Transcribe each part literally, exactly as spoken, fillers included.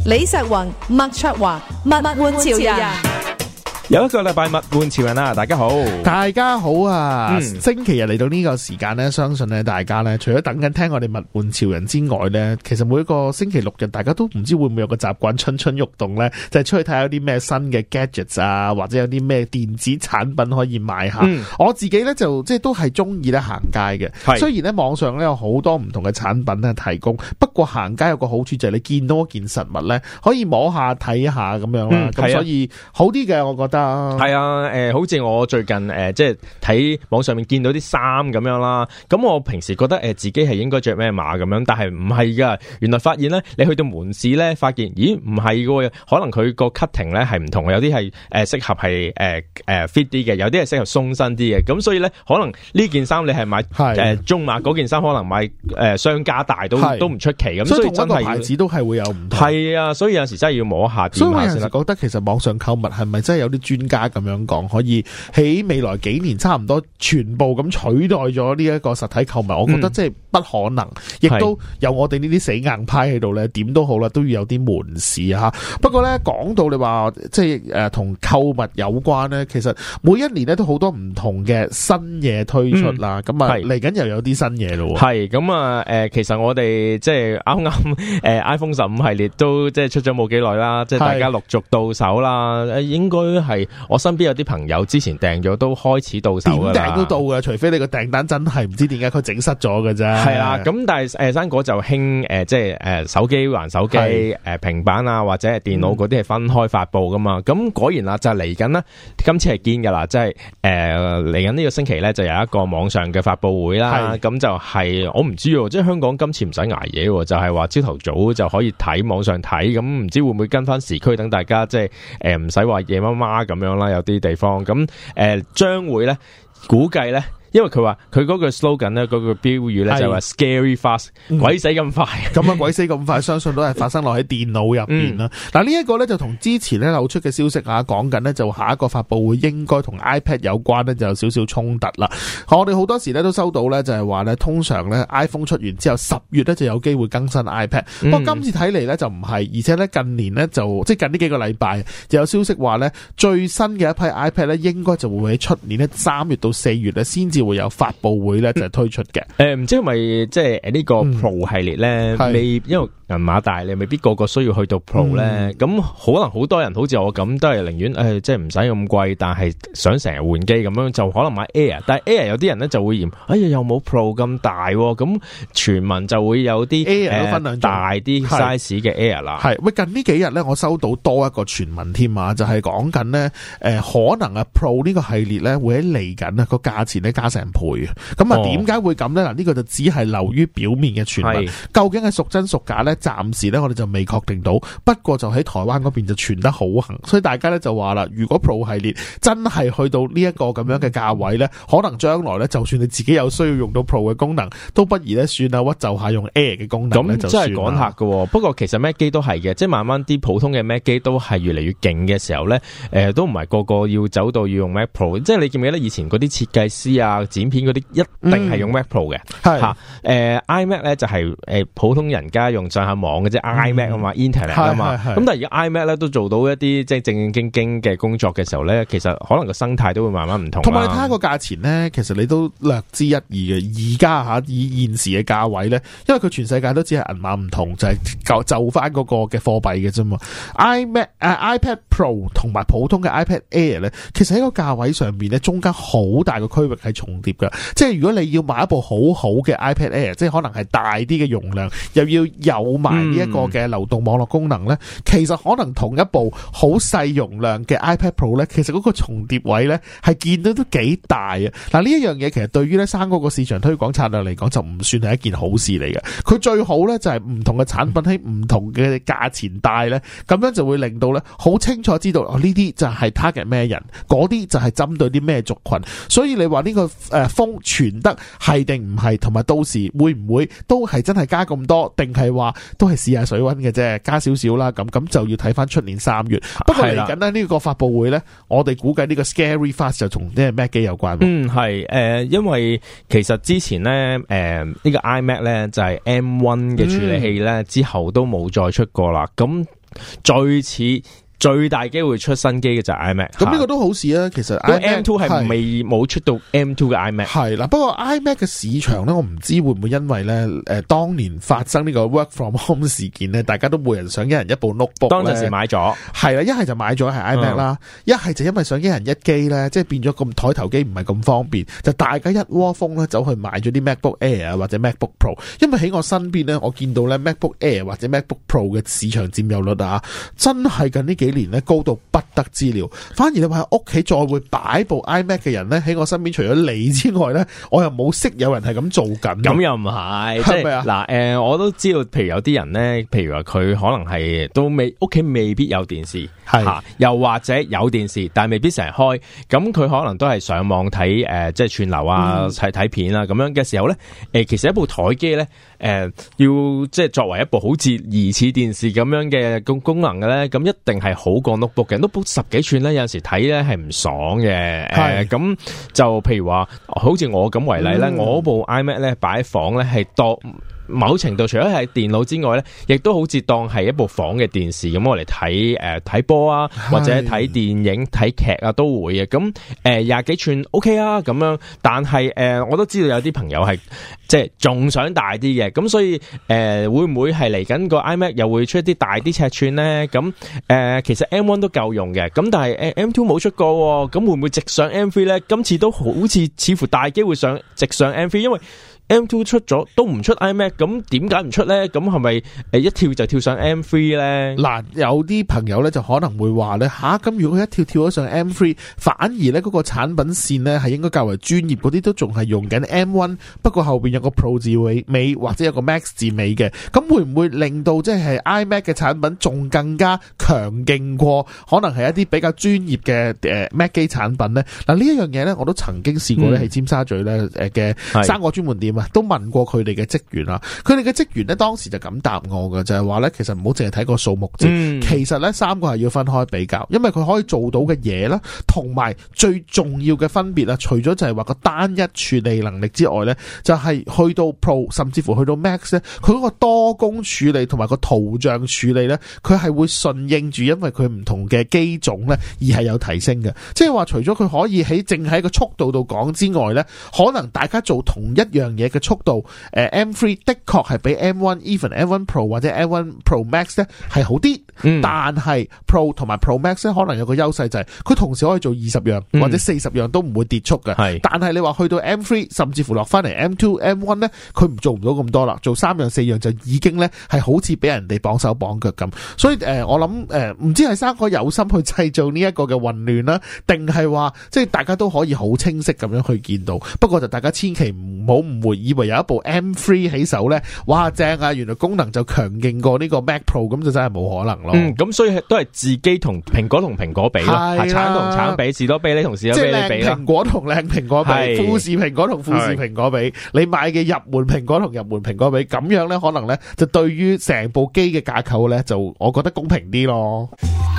李石宏、麥卓華，物玩潮人。 有一個禮拜物玩潮人啊，大家好， 大家好啊！ 嗯、 星期日嚟到呢個時間呢，相信咧大家咧，除咗等緊聽我哋物玩潮人之外咧，其實每一個星期六日，大家都唔知會唔會有個習慣蠢蠢欲動咧，就係、是、出去睇下有啲咩新嘅 gadgets 啊，或者有啲咩電子產品可以買下。嗯、我自己咧就即係都係中意咧行街嘅，雖然咧網上咧有好多唔同嘅產品咧提供，不過行街有個好處就係你見到一件實物咧，可以摸下睇下咁樣啦，咁、嗯、所以好啲嘅，我覺得。 係啊，誒、呃，好似我最近誒、呃，即係睇網上面見到啲衫咁樣啦。咁我平時覺得誒、呃，自己係應該着咩碼咁樣，但係唔係噶。原來發現咧，你去到門市咧，發現咦唔係噶，可能佢個 cutting 咧係唔同，有啲係誒適合係誒誒 fit 啲嘅，有啲係適合鬆身啲嘅。咁所以咧，可能呢件衫你係買誒、呃、中碼，嗰件衫可能買誒、呃、商家大都都唔出奇。咁所以真係牌子都係會有唔同。 係啊，所以有陣時真係要摸下。 所以我有陣時覺得其實網上購物係咪真係有啲專家咁樣講，可以喺未來幾年差唔多全部咁取代咗呢一個實體購物？我覺得即係不可能，亦、嗯、都有我哋呢啲死硬派喺度咧，點都好啦，都要有啲門市吓。不過咧，講到你話即係誒同購物有關咧，其實每一年咧都好多唔同嘅新嘢推出啦。咁啊嚟緊又有啲新嘢咯。係咁啊，誒，其實我哋即係啱啱誒 iPhone 十五系列都即係出咗冇幾耐啦，即係大家陸續到手啦。誒，應該係我身邊有啲朋友之前訂咗都開始到手㗎啦，點訂都到㗎，除非你個訂單真係唔知點解佢整失咗㗎啫。係啦，咁但係誒生果就興誒即係誒手機還手機誒平板啊或者係電腦嗰啲係分開發布㗎嘛。咁、嗯、果然啦，就嚟緊啦，今次係堅㗎啦，即係誒嚟緊呢個星期咧就有一個網上嘅發布會啦。咁就係、是、我唔知喎，即係香港今次唔使捱夜喎，就係話朝頭早就可以睇網上睇，咁唔知會唔會跟翻時區等大家即係誒唔使話夜媽媽咁樣啦，有啲地方咁誒將會咧估計咧。因為佢話佢嗰個 slogan 咧，嗰個標語咧就係話 scary fast，、嗯、鬼死咁快。咁啊，鬼死咁快，相信都係發生落喺電腦入邊啦。嗱、嗯，呢一個咧就同之前咧流出嘅消息啊，講緊咧就下一個發布會應該同 iPad 有關咧，就有少少衝突啦。我哋好多時咧都收到咧，就係話咧，通常咧 iPhone 出完之後十月咧就有機會更新 iPad，、嗯、不過今次睇嚟咧就唔係，而且咧近年咧就即係近呢幾個禮拜就有消息話咧最新嘅一批 iPad 咧應該就會喺出年咧三月到四月咧先至會有發佈會咧就係推出嘅。誒、 嗯，唔、呃、知係咪即係呢個 Pro 系列咧、嗯，未因為銀碼大，你未必個個需要去到 Pro 咧。咁、嗯、可能好多人好似我咁，都係寧願誒，即係唔使咁貴，但係想成日換機咁樣，就可能買 Air。但係 Air 有啲人咧就會嫌，哎呀又冇 Pro 咁大，咁傳聞就會有啲 Air 都分兩種、呃、大啲 size 嘅 Air 啦。係喂，近呢幾日咧，我收到多一個傳聞添啊，就係講緊咧，誒，可能啊 Pro 呢個系列咧會喺嚟緊啊個價錢咧加成倍。咁啊，點解會咁咧？嗱，呢個就只係流於表面嘅傳聞，究竟係屬真屬假咧？暫時咧，我哋就未確定到。不過就喺台灣嗰邊就傳得好行，所以大家咧就話啦，如果 Pro 系列真係去到呢一個咁樣嘅價位咧，可能將來咧，就算你自己有需要用到 Pro 嘅功能，都不如咧算啦，屈就下用 Air 嘅功能咧就算啦。咁真係趕客㗎。不過其實 Mac 機都係嘅，即係慢慢啲普通嘅 Mac 機都係越嚟越勁嘅時候咧，誒、呃，都唔係個個要走到要用 Mac Pro。即係你記唔記得以前嗰啲設計師啊、剪片嗰啲一定係用 Mac Pro 嘅，係吓誒 iMac 咧就係、是、誒、呃、普通人家用上下網嘅啫、嗯、，iMac 啊嘛 ，Internet 啊嘛，咁但係而家 iMac 咧都做到一啲即係正正經經嘅工作嘅時候咧，其實可能個生態都會慢慢唔同。同埋你睇下個價錢咧，其實你都略知一二嘅。而家吓以現時嘅價位咧，因為佢全世界都只係銀碼唔同，就係、是、就就翻嗰個嘅貨幣嘅啫嘛。iMac 誒、uh, iPad Pro 同埋普通嘅 iPad Air 咧，其實喺個價位上邊咧，中間好大個區域係重疊嘅，即係如果你要買一部好好嘅 iPad Air，即係可能係大啲嘅容量，又要有埋呢一個嘅流動網絡功能咧、嗯，其實可能同一部好細容量嘅 iPad Pro 咧，其實嗰個重疊位咧係見到都幾大啊！嗱，呢一樣嘢其實對於咧生嗰個市場推廣策略嚟講，就唔算係一件好事嚟嘅。佢最好咧就係唔同嘅產品喺唔同嘅價錢帶咧，咁樣就會令到咧好清楚知道哦，呢啲就係 target 咩人，嗰啲就係針對啲咩族群。所以你話呢個誒風傳得係定唔係，同埋到時會唔會都係真係加咁多，定係話都係試下水溫嘅啫，加少少啦。咁咁就要睇翻出年三月。不過嚟緊咧呢個發布會咧，我哋估計呢個 Scary Fast 就同呢個 Mac 機有關。嗯，係誒、呃，因為其實之前咧誒呢、呃這個 iMac 咧就係 M 一 嘅處理器咧、嗯、之後都冇再出過啦。咁最似。最大機會出新機嘅就係 iMac， 咁呢個都好事啊。其實 M two 係未冇出到 M two 嘅 iMac， 係啦。不過 iMac 嘅市場咧，我唔知會唔會因為咧誒、呃、當年發生呢個 work from home 事件咧，大家都每人想一人一部 notebook， 當陣時買咗， 係啦，一係就買咗係 iMac 啦，一係就因為想一人一機咧，即係變咗咁台頭機唔係咁方便，就大家一窩蜂咧走去買咗啲 MacBook Air 或者 MacBook Pro， 因為喺我身邊咧，我見到咧 MacBook Air 或者 MacBook Pro 嘅市場佔有率啊，真係近呢幾年咧高到不得之了，反而你話喺屋企再會擺部 iMac 嘅人咧，喺我身邊除咗你之外咧，我又冇識有人係咁做緊。 咁又唔係，係咪啊？嗱，誒、呃，我都知道，譬如有啲人咧，譬如話佢可能係都未屋企未必有電視，係、啊，又或者有電視，但係未必成日開，咁佢可能都係上網睇誒、呃，即係串流啊，睇、嗯、睇片啊，咁樣嘅時候咧，誒、呃，其實一部台機咧，誒、呃，要即係作為一部好似疑似電視咁樣嘅功功能嘅咧，咁一定係好過 notebook 嘅 notebook 十幾寸咧，有陣時睇咧係唔爽嘅。誒，咁、呃、就譬如話，好似我咁為例咧、嗯，我部 iMac 咧擺喺房咧係當某程度除咗係電腦之外咧，亦都好似當係一部房嘅電視咁，我嚟睇誒睇波啊，或者睇電影睇劇啊都會嘅。咁誒廿幾寸 OK 啊咁樣，但係誒、呃、我都知道有啲朋友係即係仲想大啲嘅，咁所以誒、呃、會唔會係嚟緊個 iMac 又會出一啲大啲尺寸咧？咁誒、呃、其實 M 一 都夠用嘅，咁但係誒 M 二 冇出過，咁會唔會直上 M 三 咧？今次都好似似乎大機會上直上 M 三，因為M 二 出咗都唔出 iMac， 咁點解唔出咧？咁係咪誒一跳就跳上 M 三 咧？嗱，有啲朋友咧就可能會話咧吓，咁、啊、如果佢一跳跳咗上 M 三，反而咧嗰個產品線咧係應該較為專業，嗰啲都仲係用緊 M 一，不過後邊有個 Pro 字尾尾或者有個 Max 字尾嘅，咁會唔會令到即係 iMac 嘅產品仲更加強勁過可能係一啲比較專業嘅誒 Mac 機產品咧？嗱，呢一樣嘢咧我都曾經試過咧喺尖沙咀咧誒嘅生果專門店。都問過佢哋嘅職員啦，佢哋嘅職員呢當時就咁答我嘅，就係話呢，其實唔好淨係睇個數目字、嗯，其實呢三個係要分開比較，因為佢可以做到嘅嘢啦，同埋最重要嘅分別啊，除咗就係話個單一處理能力之外呢，就係、是、去到 Pro 甚至乎去到 Max 呢，佢嗰個多工處理同埋個圖像處理呢，佢係會順應住，因為佢唔同嘅機種呢而係有提升嘅，即係話除咗佢可以喺淨喺個速度度講之外呢，可能大家做同一樣嘢嘅速度，誒 M 三 的確係比 M 一 even M 一 Pro 或者 M 一 Pro Max 咧係好啲、嗯，但係 Pro 同埋 Pro Max 咧可能有個優勢就係佢同時可以做二十樣、嗯、或者四十樣都唔會跌速嘅，係。但係你話去到 M 三 甚至乎落翻嚟 M 二 M 一 咧，佢唔做唔到咁多啦，做三樣四樣就已經咧係好似俾人哋綁手綁腳咁。所以誒、呃，我諗誒，唔知係生果有心去製造呢一個嘅混亂啦，定係話即係大家都可以好清晰咁樣去見到。不過就大家千祈唔好誤會，以為有一部 M 三起手咧，哇正啊！原來功能就強勁過呢個 Mac Pro， 咁就真係冇可能咯。嗯， 咁所以都係自己同蘋果同蘋果比咯，係橙同橙比，士多啤梨同士多啤梨比啦。即係靚蘋果同靚蘋果比，富士蘋果同富士蘋果比，你買嘅入門蘋果同入門蘋果比，咁樣咧可能咧就對於成部機嘅架構咧，就我覺得公平啲咯。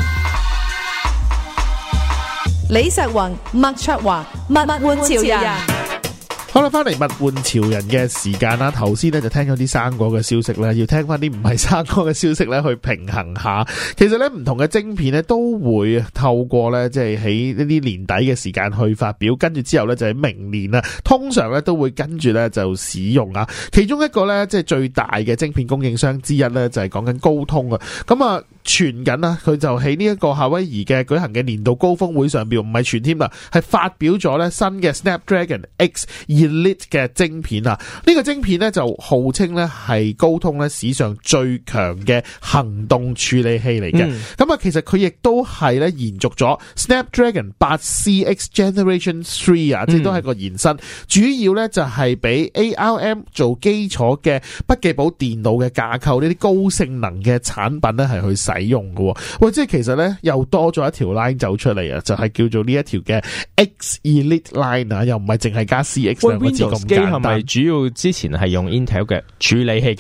李石宏、麥卓華、物玩潮人。 好啦，翻嚟物玩潮人嘅時間啦。頭先咧就聽咗啲生果嘅消息咧，要聽翻啲唔係生果嘅消息咧，去平衡下。其實咧唔同嘅晶片咧都會透過咧即係喺呢啲年底嘅時間去發表，跟住之後咧就喺明年啊，通常咧都會跟住咧就使用啊。其中一個咧即係最大嘅晶片供應商之一咧就係講緊高通啊。咁啊傳緊啊，佢就喺呢一個夏威夷嘅舉行嘅年度高峰會上邊，唔係傳添啦，係發表咗咧新嘅 Snapdragon X Elite 嘅晶片啊！呢個晶片咧就號稱咧係高通咧史上最強嘅行動處理器嚟嘅。咁、嗯、啊，其實佢亦都係咧延續咗 Snapdragon 八 C X Generation Three 啊，即係都係個延伸。嗯、主要咧就係俾 A R M 做基礎嘅筆記簿電腦嘅架構呢啲高性能嘅產品咧係去使用嘅。喂，即係其實咧又多咗一條 line 走出嚟啊，就係、是、叫做呢一條嘅 X Elite Line 啊，又唔係淨係加 C X。Windows 機係咪主要之前係用 Intel 嘅處理器噶？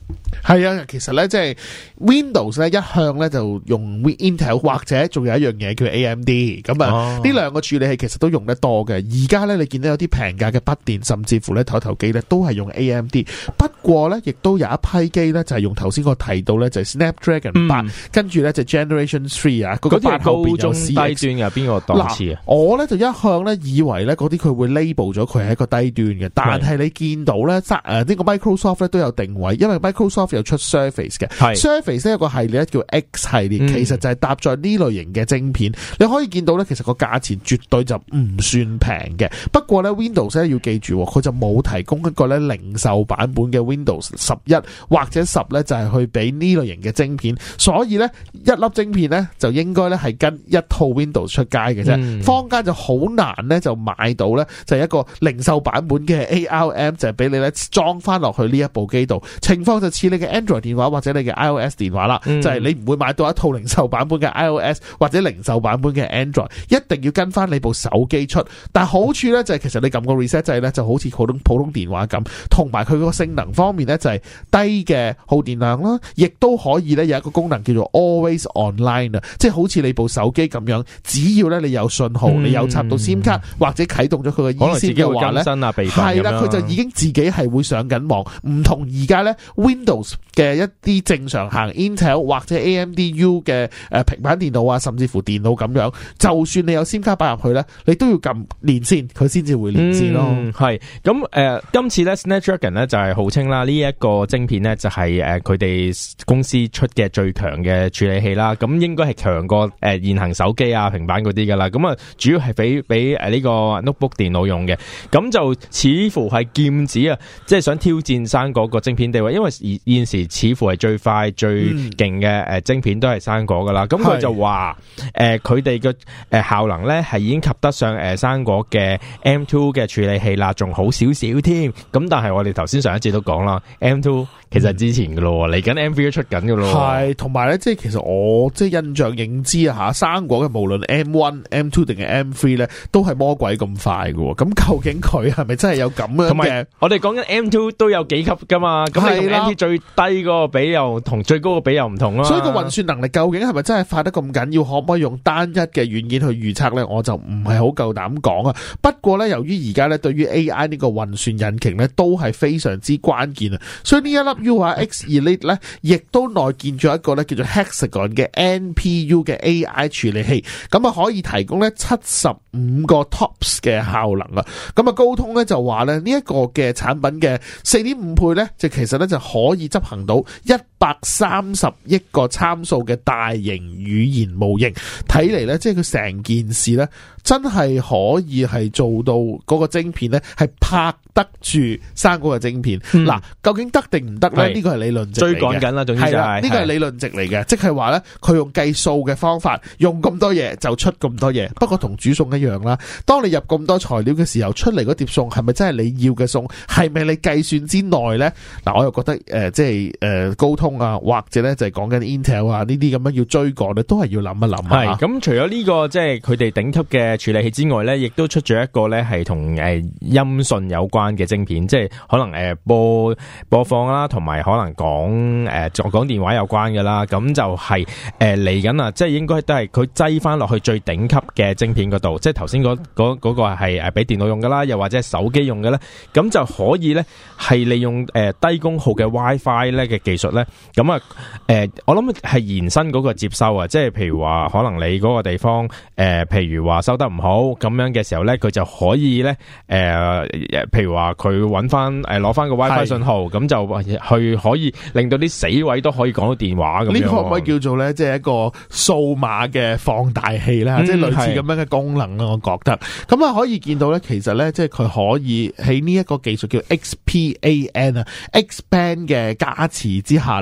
係啊，其實咧即係 Windows 咧一向咧就用 Intel 或者仲有一樣嘢叫 A M D 咁啊，呢兩個處理器其實都用得多嘅。而家咧你見到有啲平價嘅筆電，甚至乎咧台頭機咧都係用 A M D。不過咧亦都有一批機咧就係用頭先我提到咧就係 Snapdragon 八、嗯，跟住咧就 Generation Three 啊，嗰個八後邊有 C X。高中低端嘅邊個檔次啊？我咧就一向咧以為咧嗰啲佢會 label 咗佢係一個低端嘅，但係你見到咧誒呢個 Microsoft 咧都有定位，因為 Microsoft 有出 Surface 嘅 Surface 呢有個系列叫 X 系列、嗯、其實就係搭載呢類型嘅晶片，你可以見到咧其實個價錢絕對就唔算平嘅。不過咧 Windows 咧要記住佢就冇提供一個咧零售版本嘅 Windows 十一或者十咧就係去俾呢類型嘅晶片，所以咧一粒晶片咧就應該咧係跟一套 Windows 出街嘅啫、嗯、坊間就好難咧就買到咧就係一個零售版本嘅 A R M 就係俾你咧裝翻落去呢一部機度，情況就似你嘅 Android 電話或者你嘅 iOS 電話啦、嗯，就係、是、你唔會買到一套零售版本嘅 iOS 或者零售版本嘅 Android， 一定要跟翻你部手機出。但係好處咧就係其實你撳個 reset 掣咧就好似普通普通電話咁，同埋佢個性能方面咧就係低嘅耗電量啦，亦都可以咧有一個功能叫做 Always Online 啊，即係好似你部手機咁樣，只要咧你有信號、嗯，你有插到 SIM 卡或者啟動咗佢嘅 eSIM 嘅話咧，係啦，佢就已經自己係會上緊網，唔同而家咧 Windows 嘅一啲正常行 Intel 或者 A M D U 嘅誒平板電腦啊，甚至乎電腦咁樣，就算你有 SIM 卡擺入去咧，你都要撳連線，佢先至會連線咯。係咁誒，今次咧 Snapdragon 咧就係號稱啦，呢一個晶片咧就係誒佢哋公司出嘅最強嘅處理器啦。咁應該係強過誒現行手機啊、平板嗰啲噶啦。咁啊，主要係俾俾誒呢個 notebook 電腦用嘅。咁就似乎係劍指啊，即係想挑戰生果個晶片地位，因為現時似乎係最快最勁嘅誒晶片都係生果噶啦。咁、嗯、佢就話誒佢哋嘅誒效能咧係已經及得上誒生果嘅 M 二 嘅處理器啦，仲好少少添。咁但係我哋頭先上一節都講啦 ，M 二其實之前噶咯，嚟緊 M 三都出緊噶咯。係同埋咧，即係其實我即係印象認知啊吓，生果嘅無論 M 一、M 二 定係 M 三咧，都係魔鬼咁快噶。咁究竟佢係咪真係有咁樣嘅？我哋講緊 M 二都有幾級噶嘛？咁你同 M 三最低嗰個比又同最高個比又唔同啦。所以個運算能力究竟係咪真係快得咁緊要？可唔可以用單一嘅軟件去預測咧？我就唔係好夠膽講啊。不過咧，由於而家咧對於 A I 呢個運算引擎咧都係非常之關鍵啊，所以呢一粒 U 啊 X Elite 咧，亦都內建咗一個咧叫做 Hexagon 嘅 N P U 嘅 A I 處理器，咁啊可以提供咧七十五個 T O P S 嘅效能啊。咁啊高通咧就話咧呢一個嘅產品嘅四點五倍咧，就其實咧就可以執行到一百三十億個參數嘅大型語言模型。睇嚟咧，即係佢成件事咧，真係可以係做到嗰個晶片咧，係拍得住生果嘅晶片。嗱、嗯，究竟得定唔得咧？呢個係理論值嚟嘅。追趕緊啦，總之就係呢個係理論值嚟嘅，即係話咧，佢用計數嘅方法，用咁多嘢就出咁多嘢。不過同煮餸一樣啦，當你入咁多材料嘅時候，出嚟嗰碟餸係咪真係你要嘅餸？係咪你計算之內咧？嗱，我又覺得誒、呃，即係誒、呃、高通啊，或者咧就係講緊 Intel 啊呢啲咁樣要追趕咧，都係要諗一諗。係咁，除咗呢、這個即係佢哋頂級嘅處理器之外咧，亦都出咗一個咧係同誒音訊有關嘅晶片，即係可能誒、呃、播播放啦，同埋可能講誒就講電話有關嘅啦。咁就係誒嚟緊啊，即係應該都係佢擠翻落去最頂級嘅晶片嗰度，即係頭先嗰嗰嗰個係誒俾電腦用噶啦，又或者係手機用嘅咧，咁就可以咧係利用誒、呃、低功耗嘅 WiFi 咧嘅技術咧，咁啊誒我諗係延伸嗰個接收啊，即係譬如話可能你嗰個地方誒、呃，譬如話收得唔好咁樣嘅時候咧，佢就可以咧誒、呃，譬如話佢揾翻誒攞翻個 WiFi 信號，咁就去可以令到啲死位都可以講到電話咁樣。呢、這個可唔可以叫做咧，即係一個數碼嘅放大器咧、嗯，即係類似咁樣嘅功能啦。我覺得咁啊，可以見到咧，其實咧，即係佢可以喺呢一個技術叫 X P A N 啊 ，X Band 嘅加持之下咧，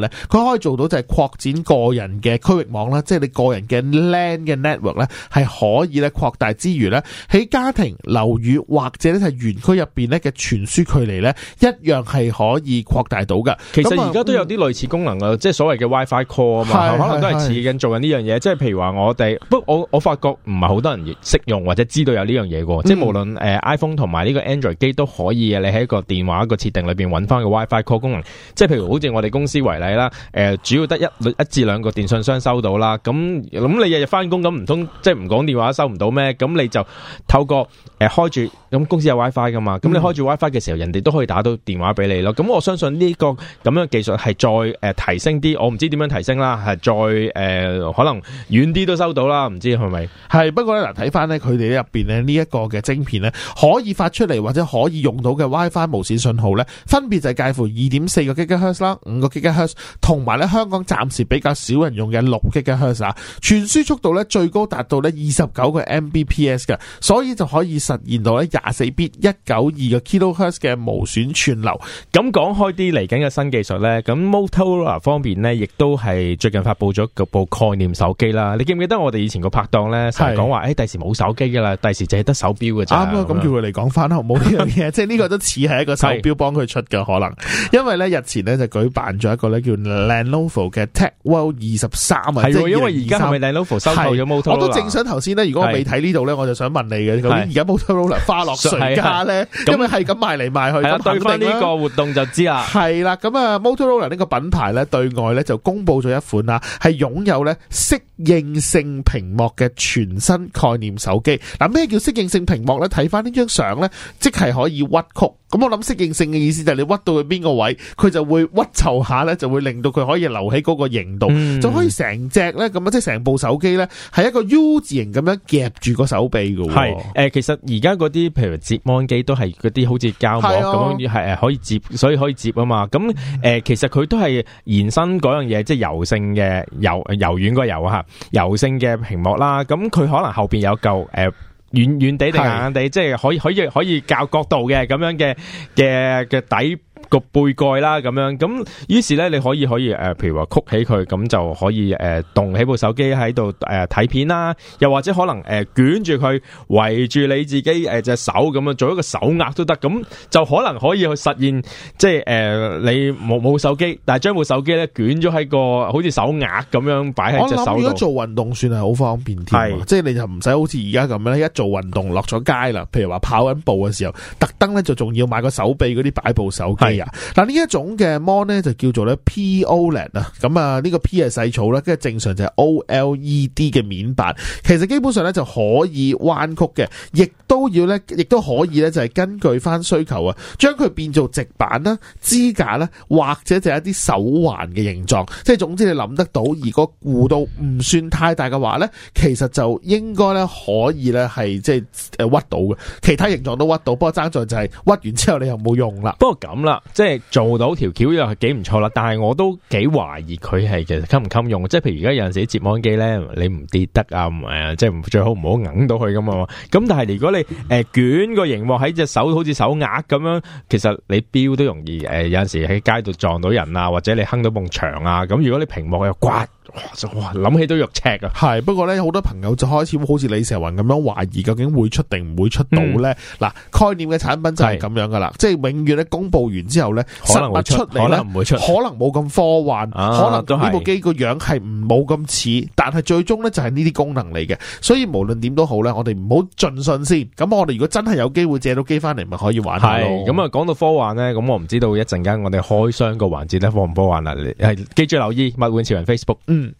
咧，佢可以做到就係擴展個人嘅區域網啦，即係你個人嘅 LAN 嘅 network 咧係可以咧擴大之餘咧，喺家庭、樓宇或者咧係園區入邊咧嘅傳輸距離咧一樣係可以擴大到噶。 其實而家都有啲類似功能啊，即係所謂嘅 WiFi call 啊嘛，可能都係似緊做緊呢樣嘢。即係譬如話我哋，不過我我發覺唔係好多人識用或者知道有呢樣嘢嘅，即係無論誒 iPhone 同埋呢個 Android 機都可以嘅。你喺一個電話一個設定裏邊揾翻個 WiFi call 功能，即係譬如好似我哋公司為例啦，誒主要得一一至兩個電信商收到啦，咁咁你日日翻工咁唔通即係唔講電話收唔到咩？咁你就透過誒開住咁公司有 WiFi 噶嘛，咁你開住 WiFi 嘅時候，人哋都可以打到電話俾你咯。咁我相信呢個咁樣嘅技術係再誒提升啲，我唔知點樣提升啦，係再誒可能遠啲都收到啦，唔知係咪？係不過咧嗱，睇翻咧佢哋入邊咧呢一個嘅晶片咧，可以發出嚟或者可以用到嘅 WiFi 無線信號咧，分別就係介乎二點四個 gigahertz 啦、五個 gigahertz，同埋咧香港暫時比較少人用嘅六 gigahertz 啊，傳輸速度咧最高達到咧二十九個 Mbps 嘅，所以就可以實現到咧廿四 bit 一九二個 kilohertz 嘅無損串流。 咁講開啲嚟緊嘅新技術咧，咁 Motorola 方面咧，亦都係最近發佈咗部概念手機啦。你記唔記得我哋以前個拍檔咧，成日講話誒，第時冇手機噶啦，第時淨係得手錶嘅咋。啱啊， 咁叫佢嚟講翻好冇呢樣嘢，即係呢個都似係一個手錶幫佢出嘅可能。因為咧日前咧就舉辦咗一個咧叫 Lenovo 嘅 Tech World 二十三啊， 係因為而家係咪 Lenovo 收購咗 Motorola？我都正想頭先咧，如果我未睇呢度咧，我就想問你嘅，究竟而家 Motorola 花落誰家咧？因為係咁賣嚟賣去，咁對翻呢個活動就知啦。 係啦，咁啊 Motorola 呢個品牌咧對外咧就公布咗一款啦，係擁有咧適應性屏幕嘅全新概念手機。嗱，咩叫適應性屏幕咧？睇翻呢張相咧，即係可以屈曲。咁我諗適應性嘅意思就係你屈到去邊個位，佢就會屈就下咧，就會令到佢可以留喺嗰個型度，嗯、就可以成隻咧咁啊，即係成部手機咧係一個 U 字形咁樣夾住個手臂嘅。係誒、 呃，其實而家嗰啲譬如摺芒機都係嗰啲好似膠膜咁樣，係誒可以摺，所以可以摺啊嘛。咁誒、呃，其實佢都係延伸嗰樣嘢，即係柔性嘅柔柔軟個柔啊吓，柔性嘅屏幕啦。咁佢可能後邊有嚿誒。呃軟軟地定硬硬地，即係可以可以可以較角度嘅咁樣嘅嘅嘅底個背蓋啦，咁樣咁，於是咧你可以可以誒、呃，譬如話曲起佢，咁就可以誒動起部手機喺度誒睇片啦，又或者可能誒、呃、捲住佢圍住你自己誒隻、呃、手咁樣做一個手鐲都得，咁就可能可以去實現，即係誒、呃、你冇冇手機，但係將部手機咧捲咗喺個好似手鐲咁樣擺喺隻手度。我諗如果做運動算係好方便添，即係你就唔使好似而家咁樣一做運動落咗街啦，譬如話跑緊步嘅時候，特登咧就仲要買個手臂嗰啲擺部手機。嗱，呢一種嘅 mon 咧就叫做咧 P O L E D 啊，咁啊呢個 P 係細草啦，跟住正常就係 O L E D 嘅面板，其實基本上咧就可以彎曲嘅，亦都要咧，亦都可以咧就係根據翻需求啊，將佢變做直板啦、支架啦，或者就係一啲手環嘅形狀，即係總之你諗得到，如果弧度唔算太大嘅話咧，其實就應該咧可以咧係即係誒屈到嘅，其他形狀都屈到，不過爭在就係屈完之後你又冇用啦。不過咁啦。即係做到條橋又係幾唔錯啦，但係我都幾懷疑佢係其實襟唔襟用。即係譬如而家有陣時啲摺芒機咧，你唔跌得啊，誒，即係最好唔好揞到佢咁啊。咁但係如果你誒、呃、捲個熒幕喺隻手，好似手鐲咁樣，其實你錶都容易誒、呃，有陣時喺街度撞到人啊，或者你哼到埲牆啊。咁如果你屏幕又刮。哇！諗起都肉赤啊！係不過咧，好多朋友就開始好似李石雲咁樣懷疑，究竟會出定唔會出到咧？嗱、嗯，概念嘅產品就係咁樣噶啦，即係永遠咧公布完之後咧，實物出嚟咧，可能唔會出，可能冇咁科幻，啊、可能呢部機個樣係唔冇咁似，但係最終咧就係呢啲功能嚟嘅。所以無論點都好咧，我哋唔好盡信先。咁我哋如果真係有機會借到機翻嚟，咪可以玩下咯。係咁啊！講到科幻咧，咁我唔知道一陣間我哋開箱個環節咧科唔科幻啦？係記住留意物玩潮人 Facebook。嗯。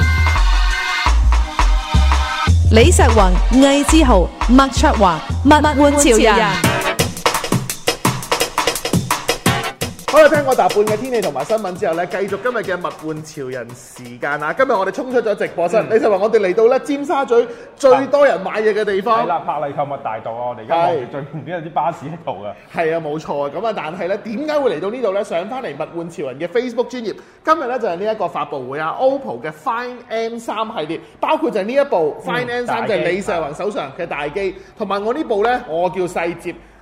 李石宏、魏志豪、麥卓華、物玩潮人。 好啦，聽過大半嘅天氣同埋新聞之後咧，繼續今日嘅物玩潮人時間啊！今日我哋衝出咗直播室，嗯、你就話我哋嚟到咧尖沙咀最多人買嘢嘅地方。係啦，柏麗購物大道啊！我哋而家望住最旁邊有啲巴士喺度噶。係啊，冇錯啊！咁啊，但係咧，點解會嚟到呢度咧？上翻嚟物玩潮人嘅 Facebook 專頁，今日咧就係呢一個發佈會啊 ！O P P O 嘅 Find M 三系列，包括就係呢一部 Find M 三，就係李世宏手上嘅大機，同埋我呢部咧，我叫細摺。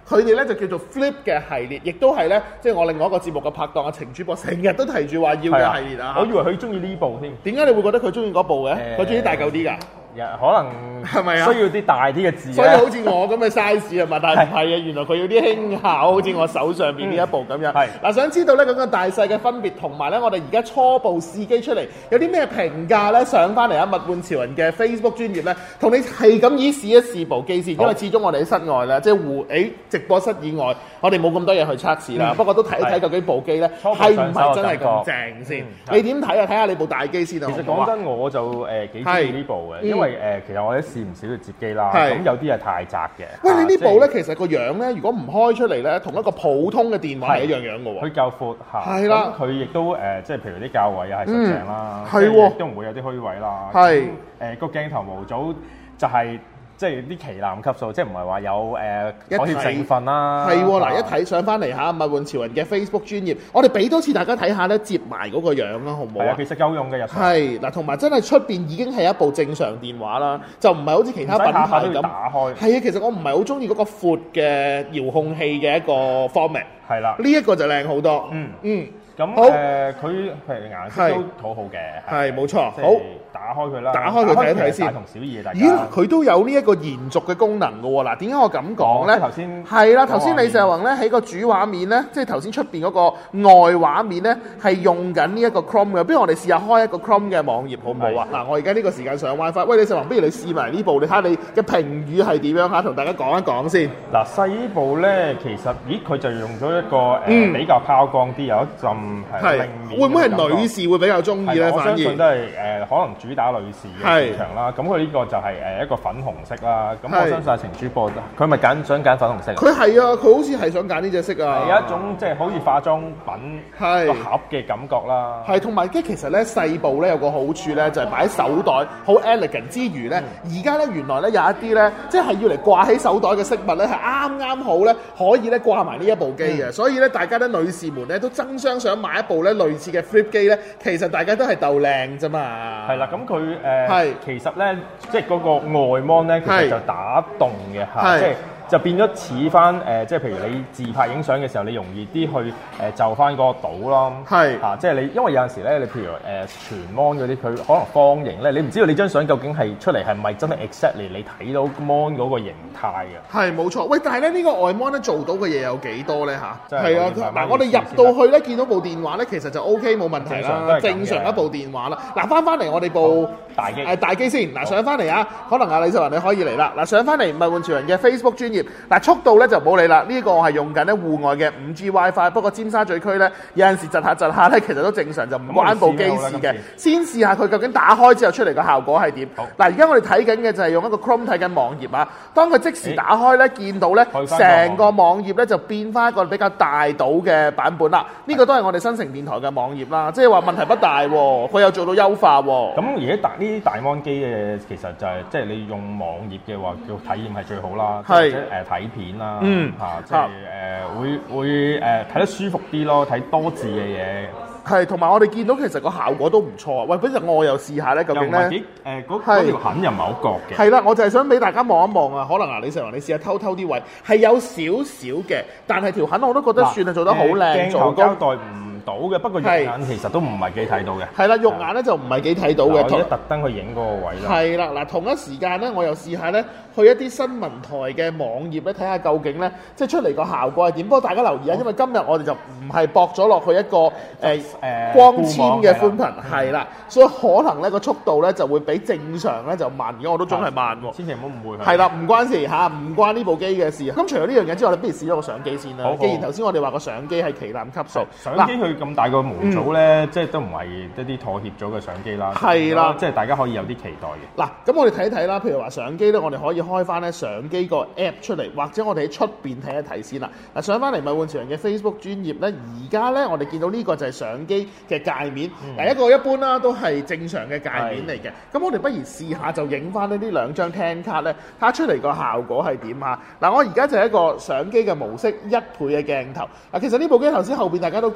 佢哋咧就叫做 Flip 嘅系列，亦都係咧即係我另外一個節目嘅拍檔阿程主播成日都提住話要嘅系列啊。 我以為佢中意呢部添。點解你會覺得佢中意嗰部嘅？佢中意大嚿啲㗎？ 可能係咪啊？需要啲大啲嘅字， 所以好似我咁嘅 size 係嘛？但係唔係啊，原來佢要啲輕巧，好似我手上邊呢一部咁樣。係嗱，想知道咧咁嘅大細嘅分別，同埋咧我哋而家初步試機出嚟有啲咩評價咧？上翻嚟啊，物玩潮人嘅 Facebook 專頁咧，同你係咁以試一試部機先，因為始終我哋喺室外咧，即係戶誒直播室以外，我哋冇咁多嘢去測試啦。不過都睇一睇究竟部機咧係唔係真係咁正先？你點睇啊？睇下你部大機先啊！ 其實講真，我就誒幾中意呢部嘅，因為誒其實我哋試唔少嘅摺機啦，咁有啲係太窄嘅。 喂，你呢部咧其實個樣咧，如果唔開出嚟咧，同一個普通嘅電話係一樣樣嘅喎。 佢夠闊嚇，係啦。咁佢亦都誒，即係譬如啲較位啊，係實淨啦，係喎，都唔會有啲虛位啦。係誒個鏡頭模組就係。即係啲旗艦級數，即係唔係話有誒妥協成分啦。係喎，嗱一睇上翻嚟嚇，物玩潮人嘅 Facebook 專頁，我哋俾多次大家睇下咧，摺埋嗰個樣啦，好唔好啊？其實夠用嘅入。係嗱，同埋真係出邊已經係一部正常電話啦，就唔係好似其他品牌咁打開。係啊，其實我唔係好中意嗰個闊嘅遙控器嘅一個 format。係啦，呢一個就靚好多。嗯嗯。咁誒，佢譬如顏色都好好嘅。係冇錯。好。打開佢啦，打開佢睇一睇先。大同小異嘅，大家。咦，佢都有呢一個延續嘅功能嘅喎。嗱，點解我咁講咧？頭先係啦，頭先李石宏咧喺個主畫面咧，即係頭先出邊嗰個外畫面咧，係用緊呢一個 Chrome 嘅。不如我哋試下開一個 Chrome 嘅網頁好唔好啊？嗱，我而家呢個時間上 WiFi。喂，李石宏，不如你試埋呢部，你睇下你嘅評語係點樣嚇？同大家講一講先。嗱，細呢部咧，其實咦，佢就用咗一個誒比較拋光啲，有一陣係令面。會唔會係女士會比較中意咧？反而我相信都係誒，可能主打女士嘅市場啦，咁佢呢個就係誒一個粉紅色啦。咁我相信阿程主播佢咪揀想揀粉紅色。佢係啊，佢好似係想揀呢隻色啊。係有一種即係好似化妝品個盒嘅感覺啦。係，同埋即係其實咧細部咧有個好處咧，就係擺手袋好 elegant 之餘咧，而家咧原來咧有一啲咧即係要嚟掛喺手袋嘅飾物咧，係啱啱好咧可以咧掛埋呢一部機嘅。所以咧大家咧女士們咧都爭相想買一部咧類似嘅 flip 機咧，其實大家都係鬥靚啫嘛。係啦，咁佢。誒，係其實咧，即係嗰個外 mon 咧，其實就打動嘅嚇，即係就變咗似翻誒，即係譬如你自拍影相嘅時候，你容易啲去誒就翻嗰個島咯。係嚇，即係你，因為有陣時咧，你譬如誒全 mon 嗰啲，佢可能方形咧，你唔知道你張相究竟係出嚟係咪真係 exactly 你睇到 mon 嗰個形態嘅。係冇錯，喂，但係咧呢個外 mon 咧做到嘅嘢有幾多咧嚇？係啊，嗱，我哋入到去咧見到部電話咧，其實就 OK 冇問題啦，正常一部電話啦。嗱，翻翻嚟我哋部大機誒大機先，嗱上翻嚟啊，可能阿李世雲你可以嚟啦。嗱上翻嚟物玩潮人嘅 Facebook 專頁。嗱速度咧就冇理啦，呢、這個我係用緊咧戶外嘅五 G WiFi， 不過尖沙咀區咧有陣時窒下窒下咧，其實都正常，就唔關部機事嘅。先試下佢究竟打開之後出嚟個效果係點。嗱，而家我哋睇緊嘅就係用一個 Chrome 睇緊網頁啊，當佢即時打開咧，見到咧成個網頁咧就變翻一個比較大島嘅版本啦。呢、這個都係我哋新城電台嘅網頁啦，即係話問題不大喎，佢有做到優化喎。咁而家大呢啲大 mon 機嘅其實就係即係你用網頁嘅話，叫體驗係最好啦，或者誒睇片啦，嗯嚇、啊，即係誒、呃、會會誒睇、呃、得舒服啲咯，睇多字嘅嘢。係，同埋我哋見到其實個效果都唔錯啊！喂，不如我又試下咧，究竟咧誒嗰嗰條痕又唔係好覺嘅。係啦，我就係想俾大家望一望啊！可能啊，李世宏你試下偷偷啲位，係有少少嘅，但係條痕我都覺得算係做得好靚，做膠代唔到嘅，不過肉眼其實都唔係幾睇到嘅。係啦，肉眼咧就唔係幾睇到嘅。我而家特登去影嗰個位啦。係啦，嗱同一時間咧，我又試下咧去一啲新聞台嘅網頁咧睇下究竟咧即係出嚟個效果係點。不過大家留意啊，因為今日我哋就唔係駁咗落去一個誒。呃誒光纖嘅寬頻係啦，所以可能咧個速度咧就會比正常咧就慢，而家我都總係慢喎。千祈唔好誤會。係啦，唔關事嚇，唔關呢部機嘅事。咁除咗呢樣嘢之外，你不如試咗個相機先啦。好好，既然頭先我哋話個相機係旗艦級數，相機佢咁大個模組咧，嗯、即係都唔係一啲妥協咗嘅相機啦。係啦，即係大家可以有啲期待嘅。嗱，咁我哋睇一睇啦，譬如話相機咧，我哋可以開翻咧相機個 app 出嚟，或者我哋喺出邊睇一睇先啦。嗱，上翻嚟物玩潮人嘅 Facebook 專頁咧，而家咧我哋見到呢個就係相機嘅界面，嗱、嗯、一個一般啦，都係正常嘅界面嚟嘅。咁我哋不如試下就影翻呢啲兩張聽卡咧，睇下出嚟個效果係點啊？嗱，我而家就係一個相機嘅模式，一倍嘅鏡頭。嗱，其實呢部機頭先後邊大家都見到啦，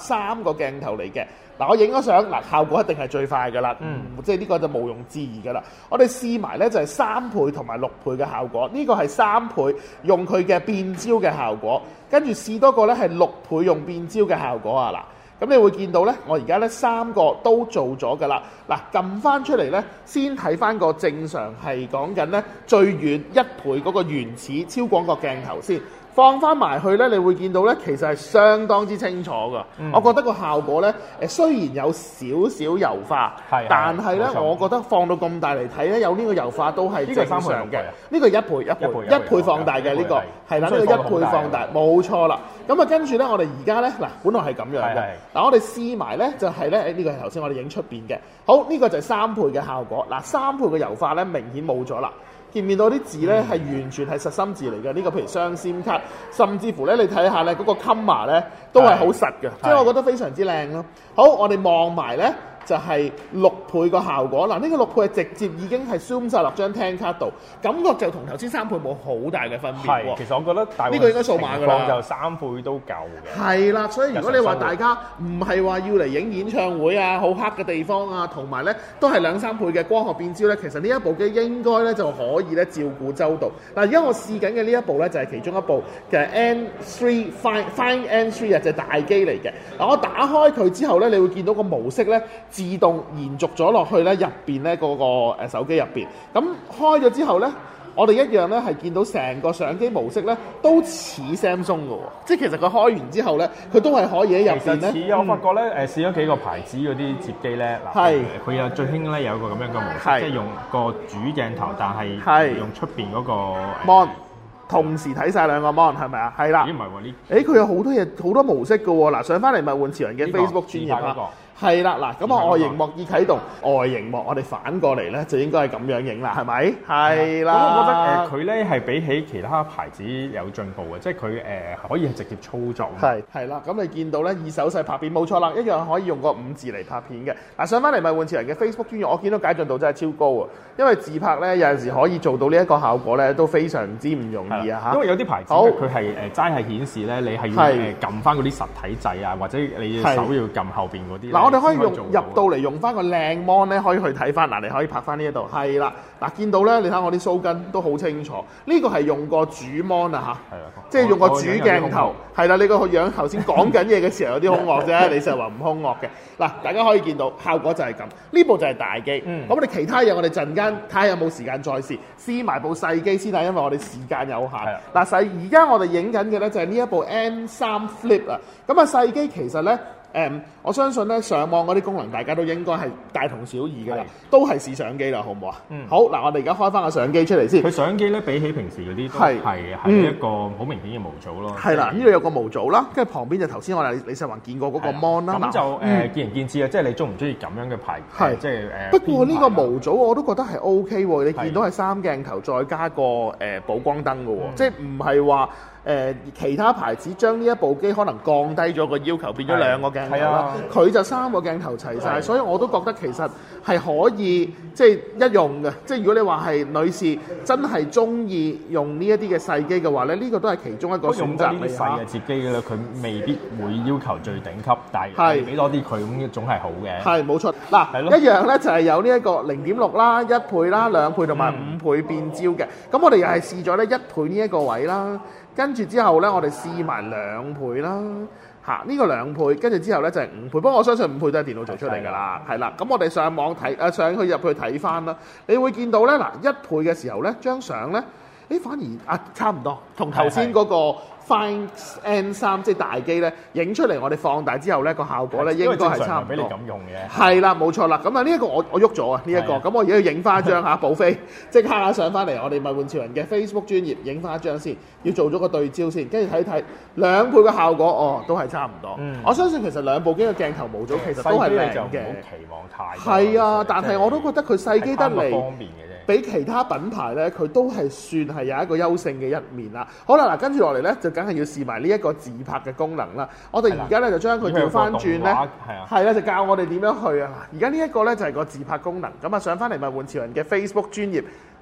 三個鏡頭嚟嘅。嗱，我影咗相，嗱效果一定係最快噶啦，嗯，即係呢個就毋庸置疑噶啦。我哋試埋咧就係三倍同埋六倍嘅效果，呢個係三倍用佢嘅變焦嘅效果，跟住試多個咧係六倍用變焦嘅效果啊！嗱，咁你會見到咧，我而家咧三個都做咗噶啦。嗱，撳翻出嚟咧，先睇翻個正常係講緊咧最遠一倍嗰個原始超廣角鏡頭先。放翻埋去咧，你會見到咧，其實係相當之清楚噶。嗯、我覺得個效果咧，誒雖然有少少油化，係但係咧，我覺得放到咁大嚟睇咧，有呢個油化都係正常嘅。呢個一倍一倍一倍，一倍放大嘅呢、呢個係啦，呢、呢個一倍放大冇錯啦。咁啊，跟住咧，我哋而家咧嗱，本來係咁樣嘅。嗱，我哋試埋咧，就係咧，誒呢個係頭先我哋影出邊嘅。好，呢、呢個就係三倍嘅效果。嗱，三倍嘅油化咧，明顯冇咗啦。見唔見到啲字咧係完全係實心字嚟嘅？呢、這個譬如雙 SIM 卡，甚至乎咧你睇下咧嗰個 comma 咧都係好實嘅，即係我覺得非常之靚咯。好，我哋望埋咧就係、是、六倍個效果。嗱，呢、這個六倍係直接已經係 zoom 晒落張聽卡度，感覺就同頭先三倍冇好大嘅分別喎。 其實我覺得大呢個應該數碼㗎啦， 就三倍都夠嘅。係啦，所以如果你話大家唔係話要嚟影演唱會啊、好黑嘅地方啊，同埋咧都係兩三倍嘅光學變焦咧，其實呢一部機應該咧就可以咧照顧周到。嗱，而家我試緊嘅呢一部咧就係其中一部嘅 N 三 Find Find N 三啊，隻大機嚟嘅。嗱，我打開佢之後咧，你會見到個模式咧自動延續咗落去咧入邊咧嗰個誒手機入邊。咁開咗之後咧，我哋一樣咧係見到成個相機模式咧都似 Samsung 嘅喎，即係其實佢開完之後咧，佢都係可以喺入邊咧。 似我發覺咧，誒試咗幾個牌子嗰啲摺機咧，嗱，佢有最興咧有一個咁樣嘅模式，即係用個主鏡頭，但係用出邊嗰個 mon 同時睇晒兩個 mon 係咪啊？係啦。咦唔係喎呢？誒佢有好多嘢好多模式嘅喎，嗱上翻嚟物玩潮人嘅 Facebook 專頁啊。係啦，嗱咁啊外螢幕已啟動，外螢幕我哋反過嚟咧就應該係咁樣影啦，係咪？係啦。咁我覺得誒佢咧係比起其他牌子有進步嘅，即係佢誒可以直接操作。 係係啦，咁你見到咧以手勢拍片冇錯啦，一樣可以用個五字嚟拍片嘅。嗱上翻嚟物玩潮人嘅 Facebook 專頁，我見到解像度真係超高啊！因為自拍咧有陣時可以做到呢一個效果咧，都非常之唔容易啊嚇。 因為有啲牌子佢係誒齋係顯示咧，你係要誒撳翻嗰啲實體掣啊，或者你手要撳後邊嗰啲。 我哋可以用入到嚟用翻個靚 mon 咧，可以去睇翻。嗱，你可以拍翻呢一度，係啦。嗱，見到咧，你睇我啲鬚根都好清楚。呢、這個係用個主 mon 啊嚇，即係用個主鏡頭。係啦，你個樣頭先講緊嘢嘅時候有啲兇惡啫，你就話唔兇惡嘅。嗱，大家可以見到效果就係咁。呢部就係大機。咁、嗯、我哋其他嘢我哋陣間睇下有冇時間再試，試埋部細機先啦，因為我哋時間有限。嗱，細而家我哋影緊嘅咧就係呢一部 N 三 Flip 啊。咁啊細機其實咧。誒、嗯，我相信咧上網嗰啲功能大家都應該係大同小異嘅啦，都係試相機啦，好唔好啊？嗯。好，嗱，我哋而家開翻個相機出嚟先。 佢相機咧比起平時嗰啲都係係一個好明顯嘅模組咯。係啦， 呢度有個模組啦，跟住旁邊就頭先我哋李世宏見過嗰個 mon 啦。 咁就誒、呃嗯、見仁見智啊，即係你中唔中意咁樣嘅牌？係即係誒。 不過呢個模組我都覺得係 O K 喎，你見到係三鏡頭再加個誒補光燈嘅喎，即係唔係話。誒、呃、其他牌子將呢一部機可能降低咗個要求，變咗兩個鏡頭啦。佢就三個鏡頭齊晒，所以我都覺得其實係可以即係一用嘅。即係如果你話係女士真係中意用呢一啲嘅細機嘅話咧，呢、這個都係其中一個選擇嚟。 細嘅摺機嘅咧，佢未必會要求最頂級，但係俾多啲佢咁總係好嘅。係冇錯。嗱，一樣咧就係有呢一個零點六啦、一倍啦、兩倍同埋五倍變焦嘅。咁、嗯、我哋又係試咗咧一倍呢一個位啦。跟住之後咧，我哋試埋兩倍啦，嚇、啊、呢、這個兩倍，跟住之後咧就係、是、五倍。不過我相信五倍都係電腦做出嚟㗎啦，係啦。咁我哋上網睇，誒、啊、上去入去睇翻啦，你會見到咧嗱，一倍嘅時候咧，張相咧，誒反而啊差唔多，同頭先嗰個 Find N 三即係大機咧影出嚟，我哋放大之後咧個效果咧應該係差唔多。俾你咁用嘅。係啦，冇錯啦。咁啊呢一個我我喐咗啊呢一個，咁我而家要影翻一張嚇補飛，即刻上翻嚟我哋物玩潮人嘅 Facebook 專頁影翻一張先，要做咗個對焦先，跟住睇睇兩倍嘅效果，哦都係差唔多、嗯。我相信其實兩部機嘅鏡頭模組其實都係靚嘅。唔好期望太多。係啊，但係我都覺得佢細機得嚟。方便嘅啫。比其他品牌咧，佢都係算係有一個優勝嘅一面啦。好啦，嗱跟住落嚟咧，就梗係要試埋呢一個自拍嘅功能啦。我哋而家咧就將佢調翻轉咧，係啦，就教我哋點樣去啊。而家呢一個咧就係個自拍功能。咁啊，上翻嚟物玩潮人嘅 Facebook 專頁，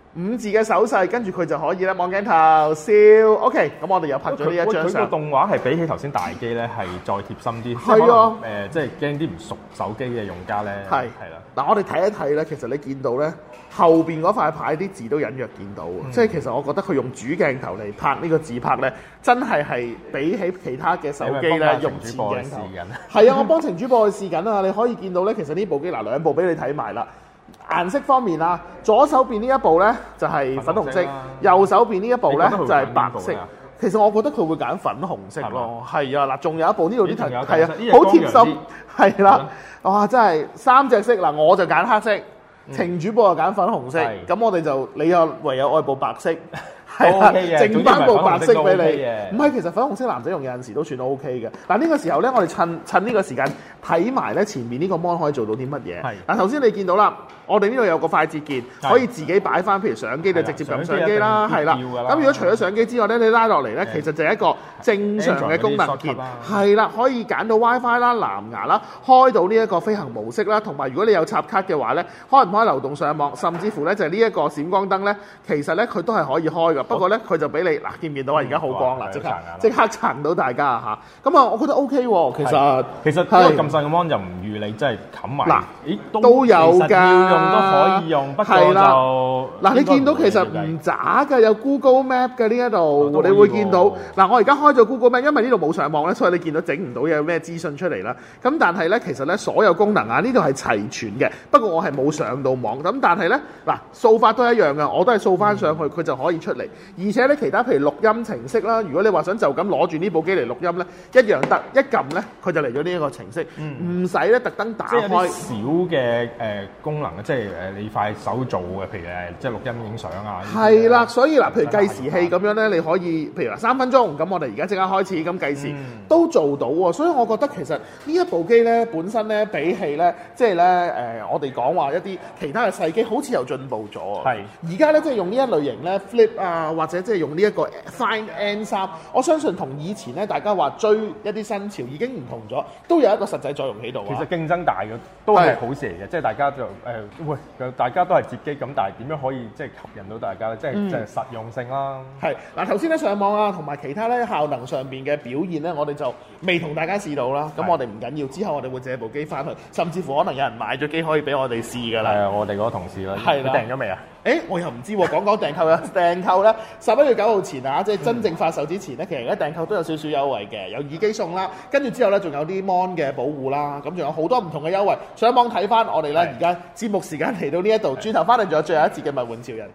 五字嘅手勢，跟住佢就可以咧望鏡頭笑。OK， 咁我哋又拍咗呢一張相。 佢個動畫係比起頭先大機咧係再貼心啲。 係啊， 誒，即係驚啲唔熟手機嘅用家咧。係係啦。嗱，我哋睇一睇咧，其實你見到咧後邊嗰塊牌啲字都隱約見到，嗯、即係其實我覺得佢用主鏡頭嚟拍呢個自拍咧，真係係比起其他嘅手機咧用前鏡頭。係啊，我幫程主播去試緊啊！你可以見到咧，其實呢部機嗱兩部俾你睇埋啦。顏色方面啊，左手邊呢一部咧就係粉紅色，右手邊呢一部咧就係白色。其實我覺得佢會揀粉紅色咯，係啊嗱，仲有一部呢度啲圖係啊，好貼心，係啦，哇真係三隻色嗱，我就揀黑色，程主播就揀粉紅色，咁我哋就你又唯有愛部白色。係啦，剩翻部白色俾你。唔係，其實粉紅色男仔用有陣時都算 O K 嘅。嗱呢個時候咧，我哋趁趁呢個時間睇埋咧前面呢個 mon 可以做到啲乜嘢。係。嗱頭先你見到啦，我哋呢度有個快捷鍵，可以自己擺翻，譬如相機就直接撳相機啦，係啦。咁如果除咗相機之外咧，你拉落嚟咧，其實就係一個正常嘅功能鍵。係啦，可以揀到 WiFi 啦、藍牙啦，開到呢一個飛行模式啦，同埋如果你有插卡嘅話咧，開唔開流動上網，甚至乎咧就係呢一個閃光燈咧，其實咧佢都係可以開㗎。不過咧，佢就俾你嗱，見唔見到啊？而家好光啦，即刻即刻撐到大家嚇。咁啊，我覺得 O K 喎。其實其實呢個咁細嘅 mon 就唔預你真係冚埋。嗱，咦都有㗎， 要用都可以用，不過就嗱，你見到其實唔渣㗎，有 Google Map 嘅呢一度，你會見到嗱。我而家開咗 Google Map，因為呢度冇上網咧，所以你見到整唔到有咩資訊出嚟啦。咁但係咧，其實咧所有功能啊，呢度係齊全嘅。不過我係冇上到網，咁但係咧嗱，掃法都一樣㗎，我都係掃翻上去，佢就可以出嚟。而且咧，其他譬如錄音程式啦，如果你話想就咁攞住呢部機嚟錄音咧，一樣得，一撳咧佢就嚟咗呢一個程式，唔使咧特登打開。即係啲小嘅誒功能，即係誒你快手做嘅，譬如誒即係錄音影相啊。 係啦，所以嗱，譬如計時器咁樣咧，你可以譬如話三分鐘，咁我哋而家即刻開始咁計時，嗯、都做到喎。所以我覺得其實呢一部機咧本身咧比起咧即係咧誒我哋講話一啲其他嘅細機，好似又進步咗。係而家咧即係用呢一類型咧 Flip 啊，或者即係用呢一個 Find N 三，我相信同以前咧大家話追一啲新潮已經唔同咗，都有一個實際作用喺度。 其實競爭大嘅都係好事嚟嘅，即係大家就誒、呃、喂，大家都係接機咁，但係點樣可以即係吸引到大家咧？即係即係實用性啦。係嗱，頭先咧上網啊，同埋其他咧效能上邊嘅表現咧，我哋就未同大家試到啦。咁我哋唔緊要，之後我哋會借部機翻去，甚至乎可能有人買咗機可以俾我哋試㗎啦。係啊，我哋嗰個同事啦，係啦，訂咗未啊？誒，我又唔知喎，講講訂購啊，訂購咧十一月九號前啊，即係真正發售之前咧，其實而家訂購都有少少優惠嘅，有耳機送啦，跟住之後咧仲有啲 mon 嘅保護啦，咁仲有好多唔同嘅優惠。上網睇翻我哋咧，而家節目時間嚟到呢一度，轉頭翻嚟仲有最後一節嘅物玩潮人。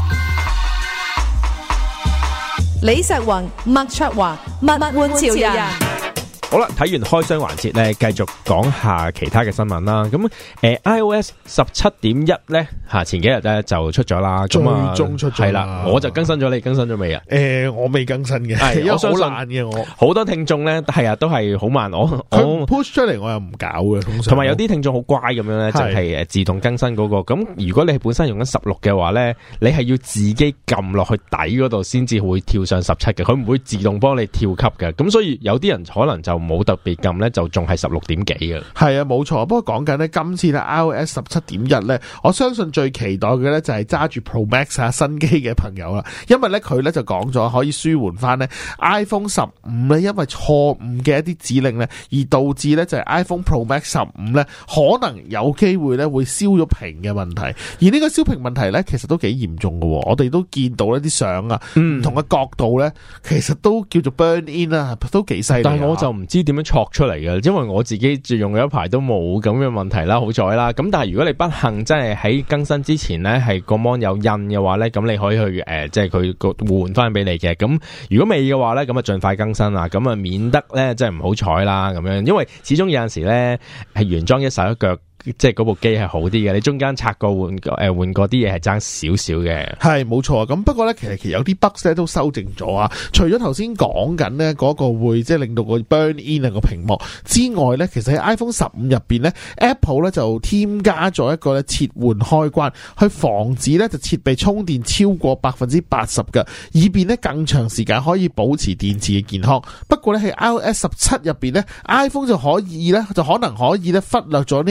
李石宏、麥卓華，物玩潮人。 好啦，睇完開箱環節咧，繼續講下其他嘅新聞啦。咁誒、呃、iOS 十七點一咧嚇，前幾日咧就出咗啦。 最終出咗係啦， 我就更新咗，你更新咗未啊？ 誒、呃，我未更新嘅，因為好懶嘅我。好多聽眾咧係啊，都係好慢。我我 push 出嚟我又唔搞嘅，通常。同埋有啲聽眾好乖咁樣咧，就係誒自動更新嗰、那個。咁如果你係本身用緊十六嘅話咧，你係要自己撳落去底嗰度先至會跳上十七嘅，佢唔會自動幫你跳級嘅。咁所以有啲人可能就冇特別撳咧，就仲係十六點幾嘅。係啊，冇錯。不過講緊咧，今次咧 iOS 十七點一咧，我相信最期待嘅咧就係揸住 Pro Max 啊新機嘅朋友啦，因為咧佢咧就講咗可以舒緩翻咧 iPhone 十五咧，因為錯誤嘅一啲指令咧，而導致咧就係 iPhone Pro Max 十五咧可能有機會咧會燒咗屏嘅問題。而呢個燒屏問題咧，其實都幾嚴重嘅。我哋都見到一啲相啊，唔、嗯、同嘅角度咧，其實都叫做 burn in 啦，都幾犀利。但係我就唔知點樣錯出嚟嘅，因為我自己用咗一排都冇咁嘅問題啦，好彩啦。咁但係如果你不幸真係喺更新之前咧，係個 mon 有印嘅話咧，咁你可以去誒，即係佢個換翻俾你嘅。咁如果未嘅話咧，咁啊盡快更新啦，咁啊免得咧即係唔好彩啦咁樣，因為始終有陣時咧係原裝一手一腳。即係嗰部機係好啲嘅，你中間拆過換誒換過啲嘢係爭少少嘅。係冇錯，咁不過咧，其實其實有啲 bugs 咧都修正咗啊。除咗頭先講緊咧嗰個會即係令到個 burn in 啊個屏幕之外咧，其實喺 iPhone 十五入邊咧 ，Apple 咧就添加咗一個咧切換開關，去防止咧就設備充電超過百分之八十嘅，以便咧更長時間可以保持電池嘅健康。不過咧喺 iOS 十七入邊咧 ，iPhone 就可以咧就可能可以咧忽略咗呢一個自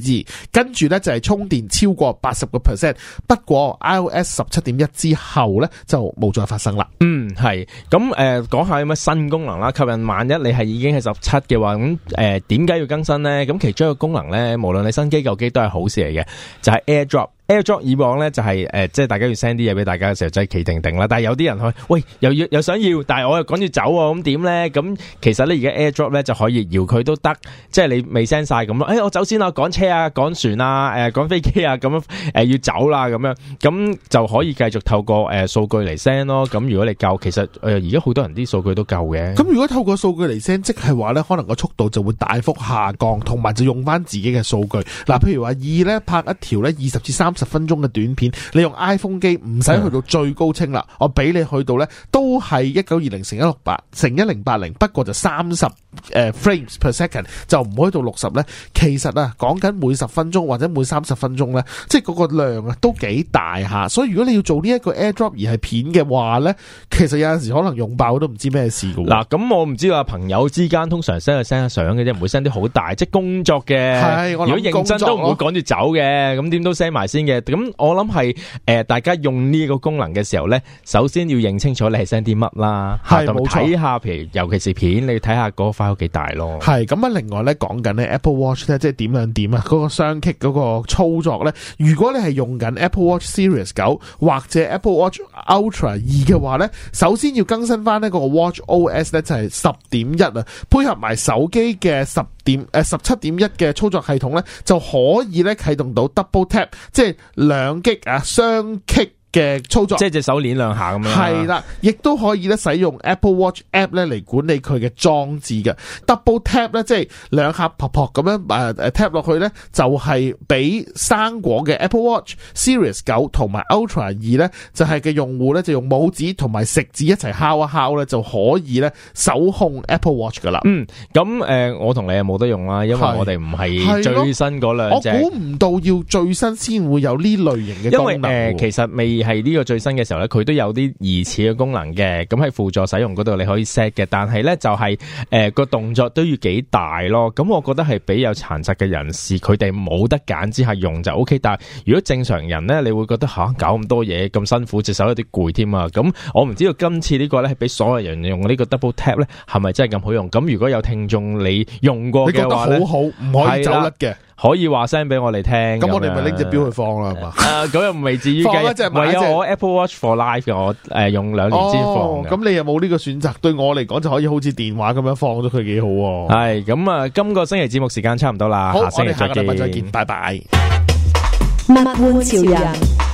G， 跟住咧就係充電超過八十個 percent。不過 iOS 十七點一之後咧就冇再發生啦。 嗯，係咁誒，講下有咩新功能啦，吸引萬一你係已經係十七嘅話，咁誒點解要更新呢？咁其中一個功能咧，無論你新機舊機都係好事嚟嘅，就係、是、AirDrop。AirDrop 以往咧就係、是、誒、呃，即係大家要 send 啲嘢俾大家嘅時候，就係企定定啦。但係有啲人去，喂，又要又想要，但係我又趕住走喎，咁點咧？咁其實咧而家 AirDrop 咧就可以搖佢都得，即係你未 send 晒咁咯。誒、哎，我走先啦，趕車啊，趕船啊，誒、呃，趕飛機啊，咁樣誒、呃、要走啦，咁樣咁就可以繼續透過誒數、呃、據嚟 send 咯。咁如果你夠，其實誒而家好多人啲數據都夠嘅。咁如果透過數據嚟 send，即係話咧，可能個速度就會大幅下降，同埋就用翻自己嘅數據。嗱，譬如話二咧拍一條咧二十至三十分鐘嘅短片。你用 iPhone 機唔使去到最高清啦，我俾你去到咧都係一九二零乘一六八乘一零八零，不過就三十誒 frames per second， 就唔可以到六十咧。其實啊，講緊每十分鐘或者每三十分鐘咧，即係嗰個量啊都幾大下。所以如果你要做呢一個 AirDrop 而係片嘅話咧，其實有陣時可能用爆都唔知咩事㗎。 嗱，咁我唔知話朋友之間通常 send 去 send 相嘅啫，唔會 send 啲好大，即係工作嘅。係，我諗如果認真都唔會趕住走嘅，咁點都 send 埋先嘅。咁我諗。係誒、呃，大家用呢個功能嘅時候咧，首先要認清楚你係 send 啲乜啦，係冇錯。睇下，譬如尤其是片，你睇下嗰個 file 幾大咯。係咁啊，另外咧講緊咧 Apple Watch 咧，即係點樣點啊？嗰個雙擊嗰個操作咧，如果你係用緊 Apple Watch Series 九或者 Apple Watch Ultra 二嘅話咧，首先要更新翻呢個 Watch O S 咧，就係十點一啊，配合埋手機嘅十點誒十七點一嘅操作系統咧，就可以咧啟動到 Double Tap， 即係兩擊啊，雙擊嘅操作，即係隻手鏈兩下咁樣。係啦，亦都可以咧使用 Apple Watch App 咧嚟管理佢嘅裝置嘅 Double Tap 咧，即係兩下撲撲咁樣誒誒 tap 落去咧，就係俾生果嘅 Apple Watch Series 九同埋 Ultra 二咧，就係嘅用戶咧就用拇指同埋食指一齊敲一敲咧，就可以咧手控 Apple Watch 噶啦。嗯，咁誒、呃，我同你係冇得用啦，因為我哋唔係最新嗰兩隻。我估唔到要最新先會有呢類型嘅功能。因為誒、呃，其實未。係呢個最新嘅時候咧，佢都有啲疑似嘅功能嘅，咁喺輔助使用嗰度你可以 set 嘅，但係咧就係誒個動作都要幾大咯。咁我覺得係俾有殘疾嘅人士，佢哋冇得揀之下用就 O K。但係如果正常人咧，你會覺得吓、啊、搞咁多嘢咁辛苦，隻手有啲攰添啊。咁我唔知道今次呢個咧係俾所有人用呢個 double tap 咧，係咪真係咁好用？咁如果有聽眾你用過嘅話咧，你覺得好好，唔可以走甩嘅。可以話聲俾我哋聽，咁我哋咪拎隻錶去放啦，係嘛？誒，咁又未至於嘅，唔係有我 Apple Watch for Life 嘅，我誒用兩年先放嘅。咁你又冇呢個選擇？對我嚟講就可以好似電話咁樣放咗佢，幾好。係咁啊！今個星期節目時間差唔多啦，下星期再見，再見，拜拜。 物玩潮人。